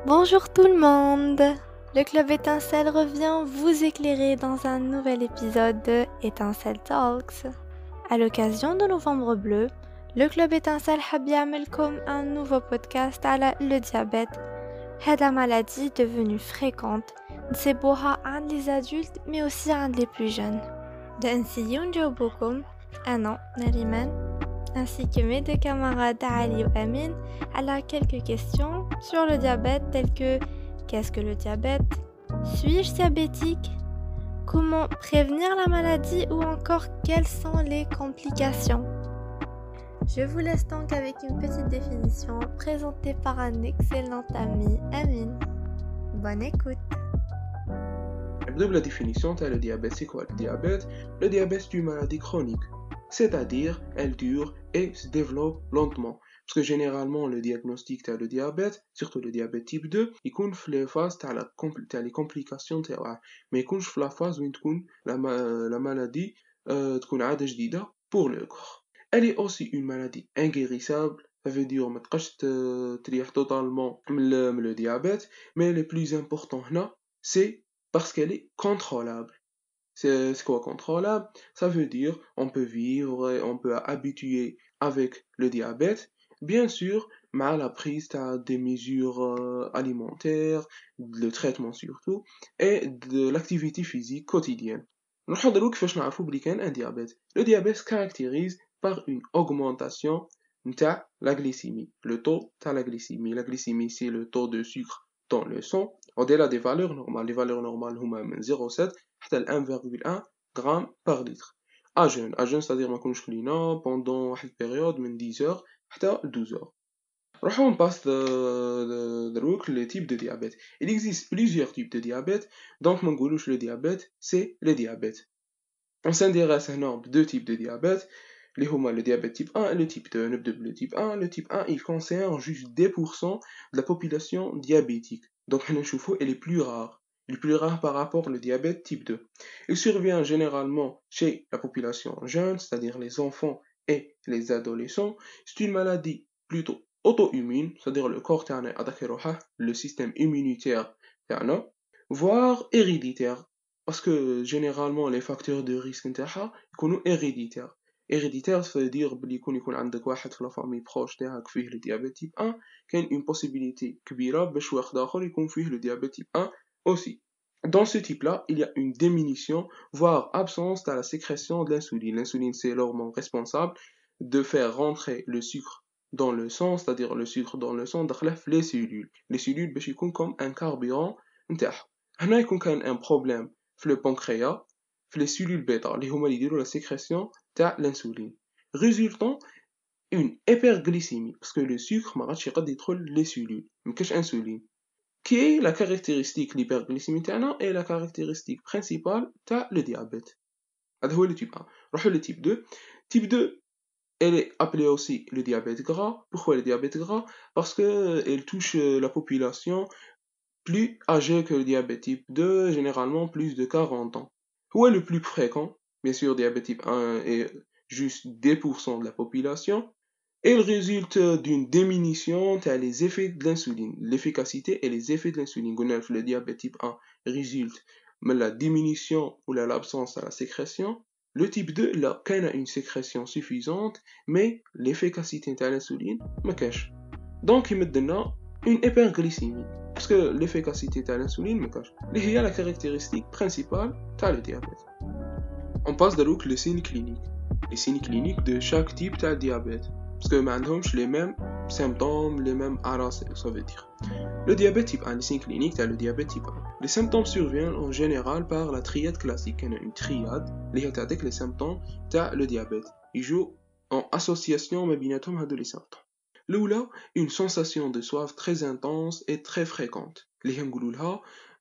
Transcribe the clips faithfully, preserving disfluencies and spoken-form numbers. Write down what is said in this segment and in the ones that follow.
Bonjour tout le monde! Le Club Étincelle revient vous éclairer dans un nouvel épisode de Étincelle Talks. À l'occasion de Novembre Bleu, le Club Étincelle حاب يعملكم un nouveau podcast على le diabète. C'est la maladie devenue fréquente, نسيبوها عند les adultes mais aussi عند les plus jeunes. نسيو نجاوبوكم أنا نريمان ainsi que mes deux camarades Ali et Amin, à quelques questions sur le diabète telles que qu'est-ce que le diabète? Suis-je diabétique? Comment prévenir la maladie ou encore quelles sont les complications? Je vous laisse donc avec une petite définition présentée par un excellent ami, Amin. Bonne écoute. La définition de le diabète, c'est quoi le diabète? Le diabète est une maladie chronique, c'est-à-dire elle dure et se développe lentement. Parce que généralement le diagnostic de le diabète, surtout le diabète type deux, il compte les phases de la compl- les complications de mais il compte la phase où la, ma- la maladie euh, pour le corps. Elle est aussi une maladie inguérissable. Ça veut dire que tu ne peux pas totalement le, le diabète, mais le plus important là, c'est parce qu'elle est contrôlable. C'est quoi contrôlable? Ça veut dire on peut vivre, et on peut habituer avec le diabète, bien sûr, mais la prise des mesures euh, alimentaires, le traitement surtout, et de l'activité physique quotidienne. نحضروا كيفاش نعرفوا بلي كاين un diabète. Le diabète se caractérise par une augmentation de la glycémie, le taux de la glycémie. La glycémie, c'est le taux de sucre dans le sang, au-delà des valeurs normales. Les valeurs normales هما من zéro virgule sept حتى ل un virgule un grammes par litre. À jeûne, à jeûne, c'est-à-dire ما نكونوش كلينا pendant واحد période من dix heures حتى douze heures. On passe de, de, de, les types de diabète. Il existe plusieurs types de diabète, donc mon goulouche, le diabète, c'est le diabète. On s'intéresse à deux types de diabète, les homa, le diabète type un et le type deux. Le type un, le type un, il concerne juste deux pour cent de la population diabétique. Donc, elle est plus rare. Il est plus rare par rapport au diabète type deux. Il survient généralement chez la population jeune, c'est-à-dire les enfants et les adolescents. C'est une maladie plutôt auto-immune, c'est-à-dire le corps تاعنا attaqué le système immunitaire تاعنا, voire héréditaire. Parce que généralement les facteurs de risque نتاعها يكونوا héréditaires. Héréditaire, ça veut dire بلي يكون يكون عندك واحد في la famille proche تاعك فيه le diabète type un, كاين une possibilité كبيرة باش واحد آخر يكون فيه le diabète type un aussi. Dans ce type-là, il y a une diminution, voire absence de la sécrétion de l'insuline. L'insuline, c'est l'hormone responsable de faire rentrer le sucre dans le sang, c'est-à-dire le sucre dans le sang, dans les cellules. Les cellules, باش يكون comme un carburant نتاعها. هنا يكون كان un problème في le pancréas, في les cellules bêta, اللي هما اللي يديروا la sécrétion تاع l'insuline. Résultant, une hyperglycémie, parce que le sucre ما غادش يقدر يدخل les cellules, ما كاش insuline. Qui est la caractéristique l'hyperglycémie تاعنا et la caractéristique principale تاع le diabète. هذا هو le type un. نروحو le type deux. Type deux, elle est appelée aussi le diabète gras. Pourquoi le diabète gras? Parce que elle touche la population plus âgée que le diabète type deux, généralement plus de quarante ans. Où est le plus fréquent? Bien sûr, diabète type un est juste deux pour cent de la population. Et il résulte d'une diminution des effets de l'insuline, l'efficacité et les effets de l'insuline. Le diabète type un résulte de la diminution ou de l'absence de la sécrétion. Le type deux, là, il a une sécrétion suffisante, mais l'efficacité de l'insuline me cache. Donc, il me donne une hyperglycémie, parce que l'efficacité de l'insuline me cache. Il y a la caractéristique principale de le diabète. On passe de les signes cliniques. Les signes cliniques de chaque type de diabète. Parce que maintenant, les mêmes symptômes, les mêmes aras, ça veut dire. Le diabète type un, les signes cliniques, t'as le diabète type un. Les symptômes surviennent en général par la triade classique. Il y a une triade, les avec les symptômes, t'as le diabète. Ils jouent en association, mais bien de les symptômes. L'oula, une sensation de soif très intense et très fréquente. Les hangouloulha,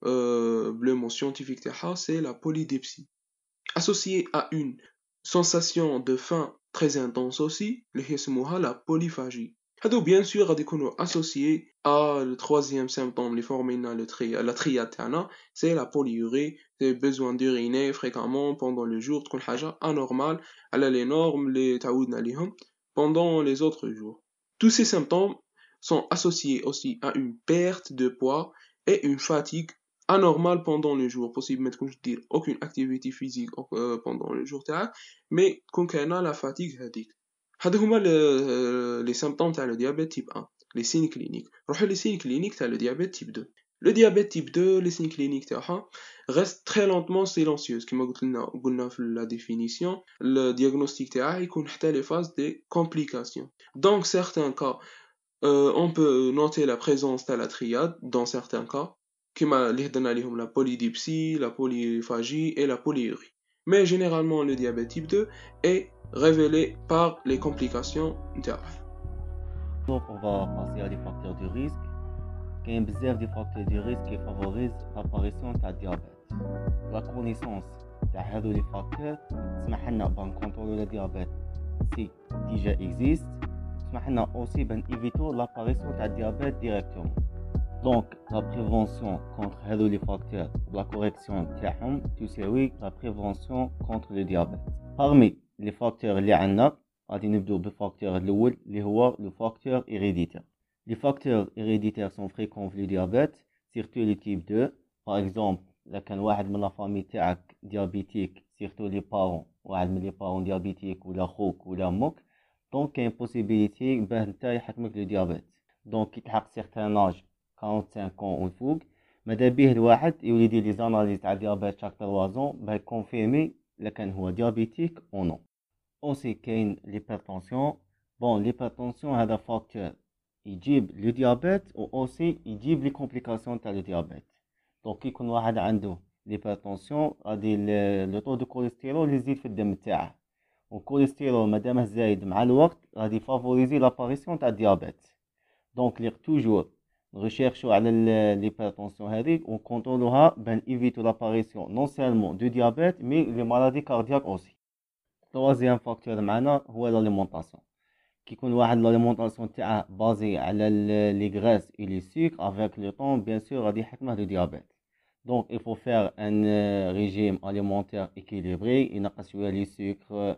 euh, le mot scientifique c'est la polydipsie. Associée à une sensation de faim très intense aussi, اللي هي سموها la polyphagie. هادو bien sûr غادي يكونوا associés à le troisième symptôme اللي formina le tri la triade تاعنا, c'est la polyurie, c'est besoin d'uriner fréquemment pendant le jour, تكون حاجة anormale على les normes اللي تعودنا عليهم pendant les autres jours. Tous ces symptômes sont associés aussi à une perte de poids et une fatigue anormale pendant le jour. Possible mettre, comme je dis, aucune activité physique euh, pendant le jour تاعك, mais كون كاينه la fatigue هذيك. هادو هما les symptômes تاع le diabète type un, les signes cliniques. نروحو les signes cliniques تاع le diabète type deux. Le diabète type deux, les signes cliniques تاعها reste très lentement silencieuse. كما قلت لنا قلنا في la définition, le diagnostic تاعها يكون حتى les phases des complications. Dans certains cas, euh, on peut noter la présence de la triade dans certains cas, كما اللي هدرنا عليهم la polydipsie, la polyphagie et la polyurie. Mais généralement le diabète type deux est révélé par les complications نتاعه. Donc on va passer à des facteurs de risque. Il y a بزاف des facteurs de risque qui favorisent l'apparition de diabète. La connaissance de هذو les facteurs تسمح لنا بان contrôler le diabète si déjà existe. تسمح لنا aussi بان éviter l'apparition de diabète directement. Donc la prévention contre هذو les facteurs, la correction تاعهم تساوي la prévention contre le diabète. Parmi les facteurs اللي عندنا غادي نبدو بالفاكتور الاول اللي هو le facteur héréditaire. Les facteurs héréditaires sont fréquents في le diabète, surtout le type deux. Par exemple, إذا كان واحد من la famille تاعك diabétique, surtout les parents, واحد من les parents diabétiques ولا خوك ولا أمك, donc كاين possibilité باه نتا يحكمك le diabète. Donc كي تحقق certain âge quarante-cinq ans والفوق, ماذا بيه الواحد يولي يدير لي زاناليز تاع diabète chaque trois ans باه يكونفيرمي إذا كان هو diabétique ou non. aussi كاين l'hypertension. Bon, l'hypertension هذا facteur يجيب le diabète و aussi يجيب les complications تاع le diabète. donc كي يكون واحد عنده l'hypertension غادي le taux de cholestérol يزيد في الدم تاعه, والكوليسترول مادامه زايد مع الوقت غادي فافوريزي لاباريسيون تاع الديابيت. دونك لي توجور نريشيرشو على l'hypertension هذيك ونكونترولوها بان ايفيتو لاباريسيون نون سيلمون دو ديابيت مي لي مالادي كاردياك اوسي. troisième فاكتور معنا هو l'alimentation. كيكون واحد l'alimentation تاعه بازي على لي غريس اي لي سكر افيك لو طون بيان سور غادي يحكمه لو ديابيت. donc il faut faire un régime alimentaire équilibré, ينقص شويه لي سكر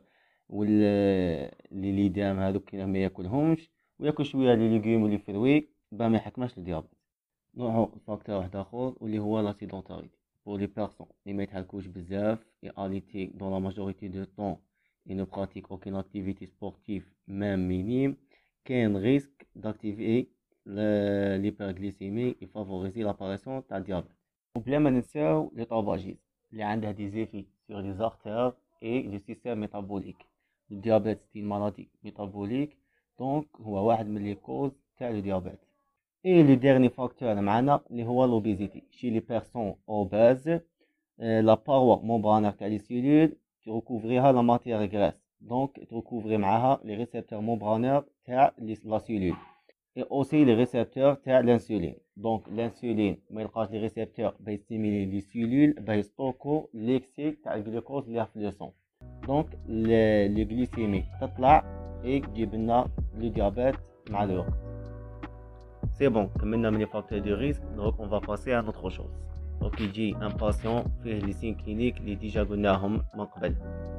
ولا لي ليدام هذوك كي ما ياكلهمش, وياكل شويه لي ليغوم ولي فروي با ما يحكمش الديابيت. نوعو فاكتور واحد اخر واللي هو لا سيدونتاريتي. pour les personnes اللي ما يتحركوش بزاف et alité dans la majorité du temps et ne pratiquent aucune activité sportive même minime, كاين risque d'activer l'hyperglycémie et favoriser l'apparition تاع الديابيت. وبلا ما ننساو لي طاباجيز اللي عندها دي زيفي sur les artères et le système métabolique. le diabète c'est une maladie métabolique, donc هو واحد من لي كوز تاع le diabète. et le dernier facteur معنا اللي هو l'obésité. chez les personnes obèses, la paroi membranaire تاع les cellules تركوفريها la matière graisse, donc تركوفري معاها les récepteurs membranaires تاع la cellule et aussi les récepteurs تاع l'insuline. donc l'insuline ما يلقاش les récepteurs باش يستيميلي les cellules باش يستوكو l'excès تاع الجلوكوز اللي في le sang, donc le glycémie تطلع et تجيب لنا le diabète مع الوقت. c'est bon, كملنا من les facteurs de risque, donc on va passer à autre chose. donc يجي un patient فيه les signes cliniques اللي ديجا قلناهم من قبل.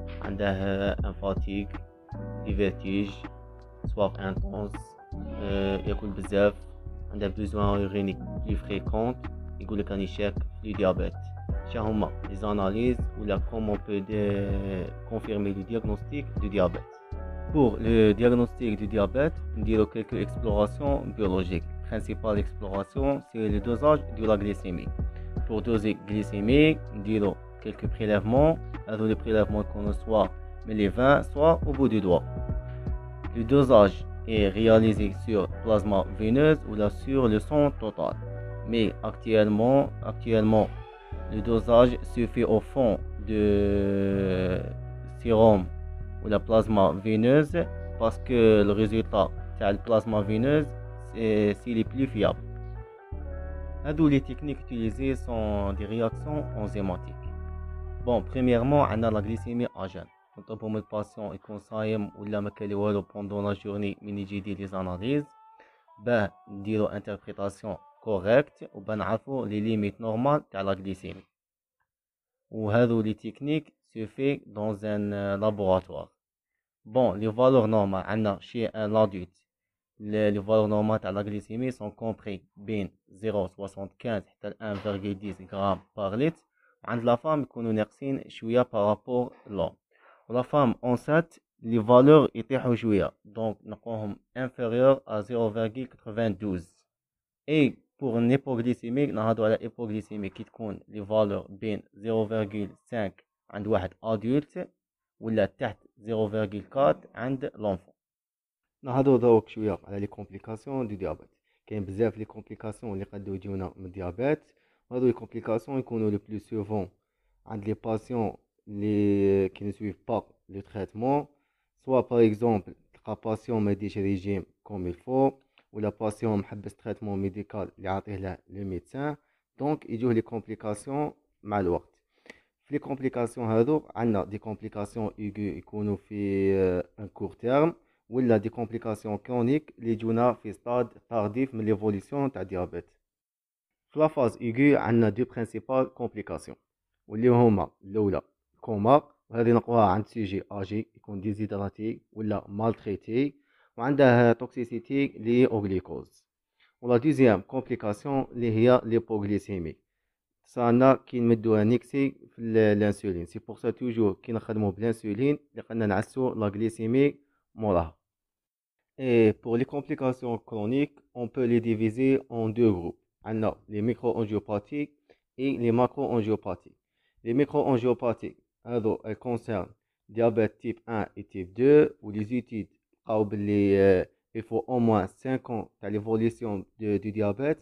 عنده un fatigue, des vertiges, soif intense, ياكل بزاف, عنده besoin urinique plus fréquent, يقول لك راني شاك في الديابيت. شا هما les analyses ولا comment on peut confirmer le diagnostic du diabète. pour le diagnostic du diabète, نديرو quelques explorations biologiques. principale exploration c'est le dosage de la glycémie. pour doser glycémie نديرو quelques prélèvements. هذو les prélèvements qu'on reçoit mais les vins soit au bout du doigt. le dosage est réalisé sur plasma veineuse ou là sur le sang total, mais actuellement actuellement le dosage se fait au fond de sérum ou la plasma veineuse parce que le résultat de la plasma veineuse c'est les plus fiables. هذو les techniques utilisées sont des réactions enzymatiques. bon premièrement on a la glycémie à jeun. نطلبوا من الباسيون يكون صايم ولا ما كالي والو بوندون لا جورني من يجي يدير لي زاناليز باه نديرو انتربريتاسيون كوريكت وباه نعرفو لي ليميت نورمال تاع لا غليسيمي. وهذو لي تكنيك سو في دون ان لابوراتوار. بون لي فالور نورمال عندنا شي ان لادولت les, les valeurs normales de la glycémie sont comprises بين zéro virgule soixante-quinze حتى un virgule dix grammes par litre. وعند la femme يكونوا ناقصين شوية par rapport l'homme. ولا femme enceinte les valeurs يطيحوا شوية donc نلقوهم inférieur à zéro virgule quatre-vingt-douze. et pour une hypoglycémie نهضروا على hypoglycémie كي تكون les valeurs بين zéro virgule cinq عند واحد adulte ولا تحت zéro virgule quatre عند l'enfant. نهضروا دروك شويه على لي كومبليكاسيون دو ديابيت. كاين بزاف لي كومبليكاسيون اللي قدو يجيونا من الديابيت. هادو لي كومبليكاسيون يكونوا لو بلو سوفون عند لي باسيون اللي كي نسويف با لو تريتمون، سوا باغ اكزومبل تلقى باسيون ما يديش ريجيم كوم الفو، ولا باسيون محبس تريتمون ميديكال اللي عاطيه له لو ميدسان، دونك يجوه لي كومبليكاسيون مع الوقت. في لي كومبليكاسيون هادو عندنا دي كومبليكاسيون ايغو يكونوا في ان كور تيرم، ولا دي كومبليكاسيون كرونيك اللي يجونا في ستاد تارديف من ليفوليسيون تاع الديابيت. في لا فاز ايغو عندنا دو برينسيبال كومبليكاسيون واللي هما الاولى كوما، وهذه نلقوها عند سيجي اجي يكون ديزيدراتي ولا مالتريتي وعنده توكسيسيتي لي اوغليكوز. ولا دوزيام كومبليكاسيون اللي هي ليبوغليسيمي، صانا كي نمدوها نيكسي في الانسولين. سي بور سا توجور كي نخدمو بالانسولين اللي قلنا نعسو لا غليسيمي موراها. Et pour les complications chroniques, on peut les diviser en deux groupes. On a les micro-angiopathiques et les macro-angiopathiques. Les micro-angiopathiques, alors, elles concernent diabète type un et type deux, où les études, euh, il faut au moins cinq ans à l'évolution du diabète,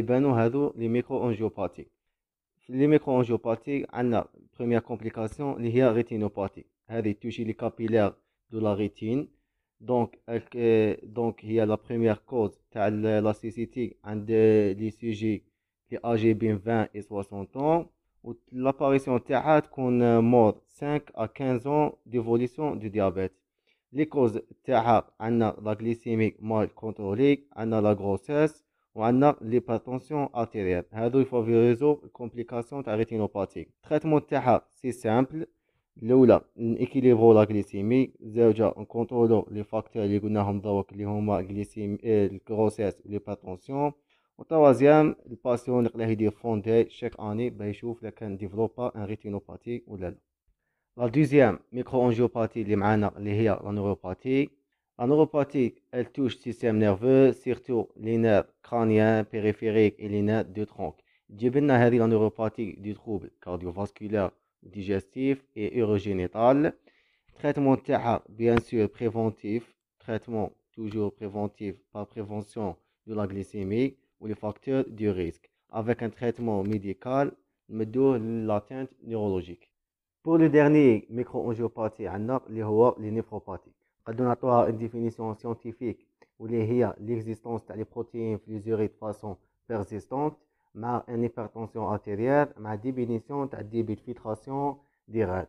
les micro-angiopathiques. Les micro-angiopathiques, on a la première complication, la rétinopathie. Elle touche les capillaires de la rétine. Donc, euh, donc, il y a la première cause, la cécité, les sujets qui sont âgés de vingt et soixante ans. L'apparition تاعها تكون mort cinq à quinze ans d'évolution du diabète. Les causes تاعها عندنا la glycémie mal contrôlée, عندنا la grossesse وعندنا l'hypertension artérielle. هادو يفافوريزو complication تاع rétinopathie. Traitement تاعها c'est simple. الأولى نإكيليبرو لا غليسيمي، زوجة نكونترولو لي فاكتور اللي قلناهم دروك اللي هما غليسيمي الكروسيس وليباتونسيون. وتوازيام الباسيون اللي قلاه يدير فوندي شاك اني باه يشوف الا كان ديفلوبا ان ريتينوباتي ولا لا. لا دوزيام ميكرو انجيوباتي اللي معانا اللي هي لا نوروباتي. لا نوروباتي ال توش سيستيم نيرفو سيرتو لي نير كرانيان بيريفيريك اي لي نير دو ترونك. تجيب لنا هذه لا نوروباتي دي تروبل كارديوفاسكولار digestif et urogénital. Traitement تاعها bien sûr préventif, traitement toujours préventif par prévention de la glycémie ou les facteurs du risque, avec un traitement médical نمدوه l'atteinte neurologique. Pour le dernier micro-angiopathie عندنا اللي هو les néphropathies. قد نعطوها une définition scientifique واللي هي l'existence تاع les protéines في les urines de façon persistante مع une hypertension artérielle مع diminution تاع débit de filtration des reins.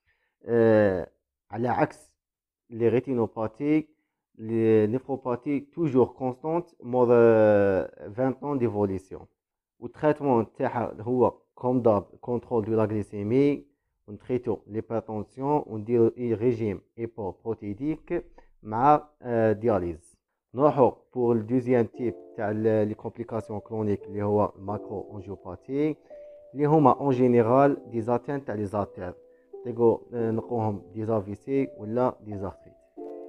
euh, على عكس les rétinopathies, les néphropathies toujours constantes more vingt ans d'évolution. و traitement تاعها هو comme d'hab contrôle de la glycémie، ونتريتو l'hypertension ونديرو régime hypoprotéidique مع dialyse. نروحو pour le deuxième type تاع les complications chroniques اللي هو macro-angiopathie اللي هما en général des atteintes تاع les artères، تلقو نلقوهم des A V C ولا des arthrites.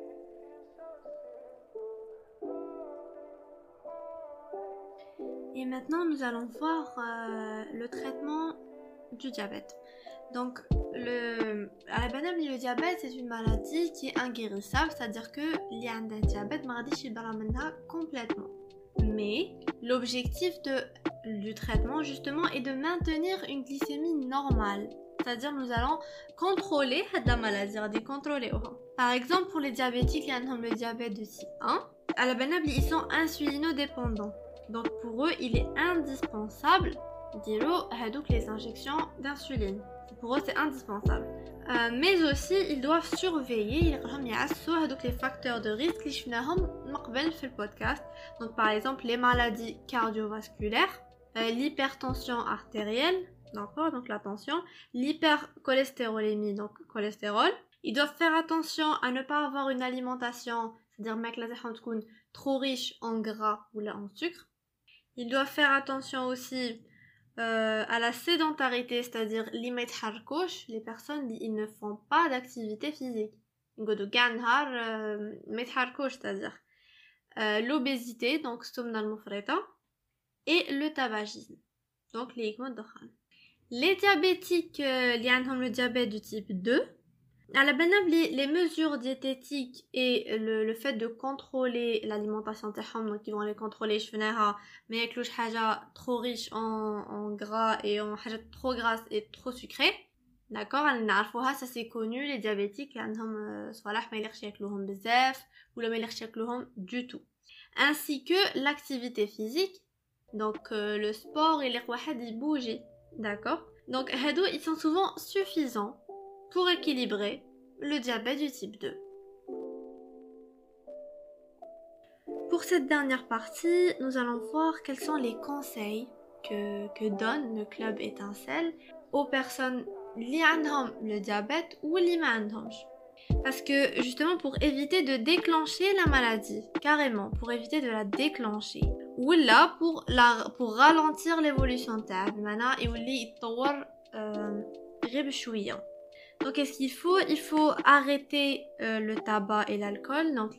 Et maintenant nous allons voir euh, le traitement du diabète. Donc le à la base le diabète c'est une maladie qui est inguérissable, c'est-à-dire que li عنده diabète ما غاديش يبرا منها complètement. Mais l'objectif de du traitement justement est de maintenir une glycémie normale. C'est-à-dire nous allons contrôler la maladie, غادي contrôler. Par exemple pour les diabétiques qui ont le diabète de type un, à la base ils sont insulinodépendants. Donc pour eux il est indispensable de les injections d'insuline. Pour eux c'est indispensable. Euh, mais aussi ils doivent surveiller les facteurs de risque que nous avons dans le podcast. Donc par exemple les maladies cardiovasculaires, euh, l'hypertension artérielle, d'accord, donc la tension, l'hypercholestérolémie, donc cholestérol. Ils doivent faire attention à ne pas avoir une alimentation, c'est-à-dire ماكلة تاعهم تكون trop riche en gras ou là en sucre. Ils doivent faire attention aussi euh, à la sédentarité, c'est-à-dire les ما يتحركوش, les personnes ils ne font pas d'activité physique. يقعدوا كاع النهار ما يتحركوش, c'est-à-dire euh, l'obésité, donc السمنة المفرطة, et le tabagisme, donc les إدمان الدخان. Les diabétiques euh, اللي عندهم le diabète du type deux, à la بالنا les mesures diététiques et le, le fait de contrôler l'alimentation تاعهم, donc ils vont les contrôler, شفناها ما ياكلوش حاجة trop riche en, en gras et en حاجة trop grasse et trop sucrée, d'accord, نعرفوها, ça c'est connu, les diabétiques عندهم صوالح ما يليقش ياكلوهم بزاف ولا ما يليقش ياكلوهم du tout, ainsi que l'activité physique, donc euh, le sport et les واحد يبوجي, d'accord, donc هادو ils sont souvent suffisants pour équilibrer le diabète du type deux. Pour cette dernière partie, nous allons voir quels sont les conseils que, que donne le club Étincelle aux personnes qui ont le diabète ou qui n'ont pas. Parce que justement pour éviter de déclencher la maladie, carrément, pour éviter de la déclencher, ou là pour, la, pour ralentir l'évolution de la maladie, et il faut Donc, qu'est-ce qu'il faut? Il faut arrêter euh, le tabac et l'alcool. Donc,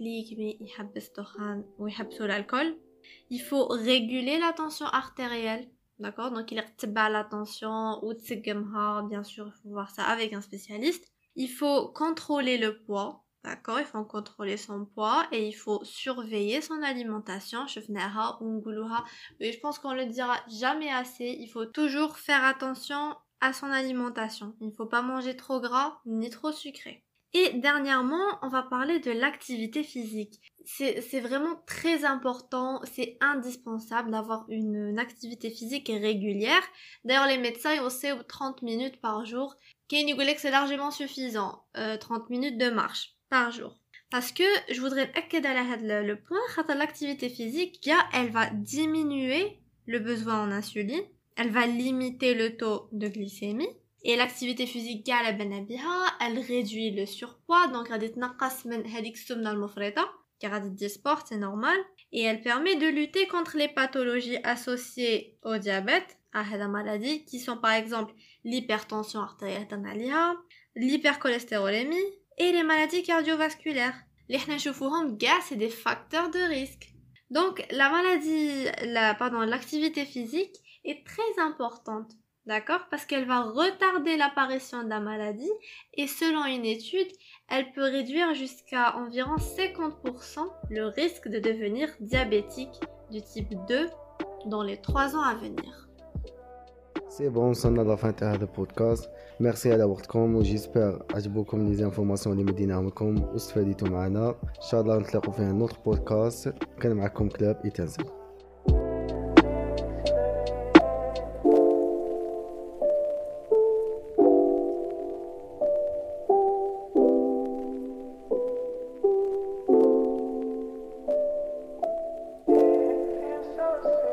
l'alcool. Il faut réguler la tension artérielle. D'accord? Donc, il y a la tension ou bien sûr, il faut voir ça avec un spécialiste. Il faut contrôler le poids. D'accord? Il faut contrôler son poids et il faut surveiller son alimentation. Et je pense qu'on le dira jamais assez. Il faut toujours faire attention à son alimentation. Il ne faut pas manger trop gras ni trop sucré. Et dernièrement, on va parler de l'activité physique. C'est, c'est vraiment très important, c'est indispensable d'avoir une, une activité physique régulière. D'ailleurs, les médecins ils conseillent trente minutes par jour. Qui nous dit que c'est largement suffisant, euh, trente minutes de marche par jour. Parce que je voudrais accorder le, le point, l'activité physique, elle va diminuer le besoin en insuline. Elle va limiter le taux de glycémie. Et l'activité physique, elle réduit le surpoids. Donc, elle dit sport, c'est normal. Et elle permet de lutter contre les pathologies associées au diabète, à la maladie, qui sont par exemple l'hypertension artérielle, l'hypercholestérolémie et les maladies cardiovasculaires. Les c'est des facteurs de risque. Donc, la maladie, la, pardon, l'activité physique est très importante, d'accord, parce qu'elle va retarder l'apparition de la maladie et selon une étude, elle peut réduire jusqu'à environ cinquante pour cent le risque de devenir diabétique du type deux dans les trois ans à venir. C'est bon, وصلنا لفان تاع هذا البودكاست. ميرسي على وقتكم وجيسبر عجبوكم لي زانفورماسيون اللي مديناهم لكم واستفاديتوا معنا. ان شاء الله نتلاقوا في نوتر بودكاست. كان معكم كلاب إيتانسل. So